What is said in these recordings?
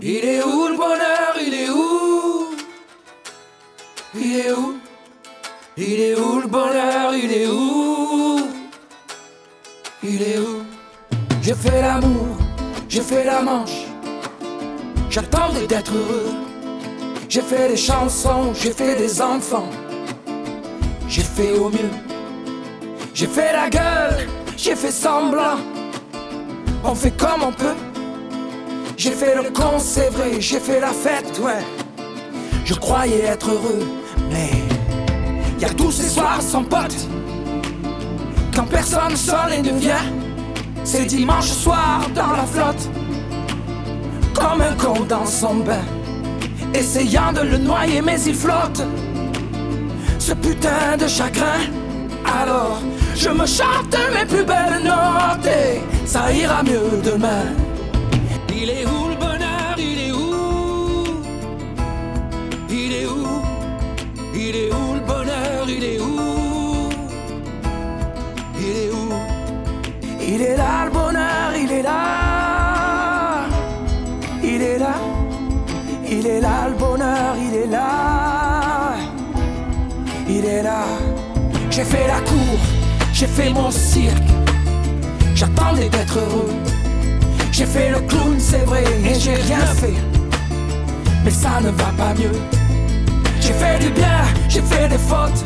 Il est où le bonheur? Il est où? Il est où? Il est où le bonheur? Il est où? Il est où? J'ai fait l'amour, j'ai fait la manche, j'attendais d'être heureux. J'ai fait des chansons, j'ai fait des enfants, j'ai fait au mieux. J'ai fait la gueule, j'ai fait semblant, on fait comme on peut. J'ai fait le con, c'est vrai, j'ai fait la fête, ouais. Je croyais être heureux, mais y a tous ces soirs sans potes, quand personne sonne et ne vient. C'est dimanche soir dans la flotte, comme un con dans son bain, essayant de le noyer mais il flotte, ce putain de chagrin. Alors je me chante mes plus belles notes et ça ira mieux demain. Il est où le bonheur? Il est où? Il est où? Il est où le bonheur? Il est où? Il est où? Il est là le bonheur, il est là. Il est là. Il est là le bonheur, il est là. Il est là. J'ai fait la cour, j'ai fait mon cirque, j'attendais d'être heureux. J'ai fait le clown, c'est vrai, et j'ai rien fait, mais ça ne va pas mieux. J'ai fait du bien, j'ai fait des fautes,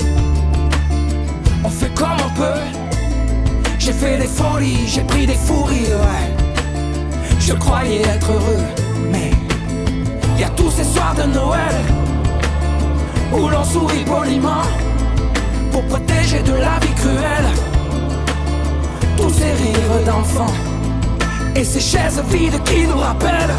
on fait comme on peut. J'ai fait des folies, j'ai pris des fous rires, ouais. Je croyais être heureux, mais y a tous ces soirs de Noël où l'on sourit poliment pour protéger de la vie cruelle tous ces rires d'enfants et ces chaises vides qui nous rappellent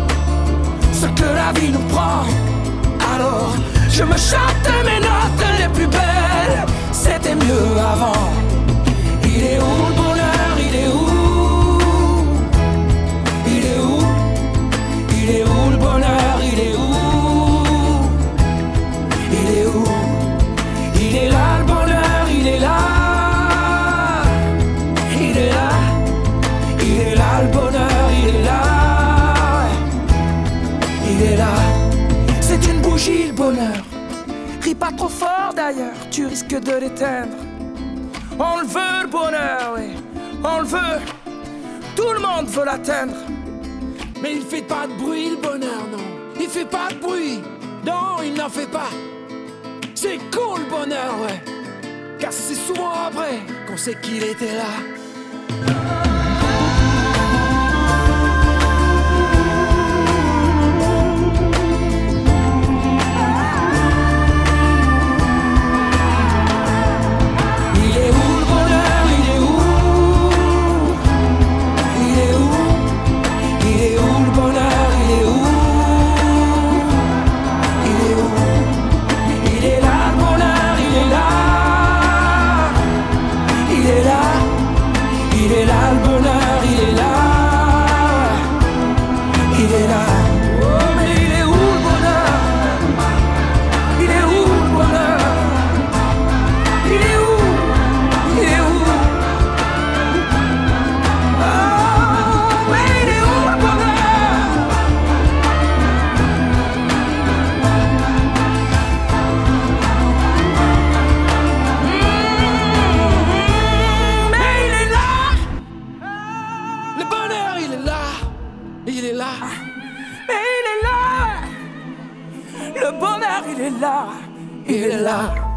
ce que la vie nous prend. Alors je me chante mes notes les plus belles, c'était mieux avant. Il est où le bonheur? Il est où? Il est où? Il est où le bonheur? Il est où? Il est où? Il est là le bonheur, il est là. Il est là. Il est là le bonheur, il est là. Il est là. C'est une bougie le bonheur. Ris pas trop fort d'ailleurs, tu risques de l'éteindre. On le veut le bonheur, oui, on le veut. Tout le monde veut l'atteindre. Mais il fait pas de bruit le bonheur, non. Il fait pas de bruit. Non, il n'en fait pas. C'est cool le bonheur, ouais. Car c'est souvent après qu'on sait qu'il était là. Il est là, mais il est là. Le bonheur, il est là, il est là.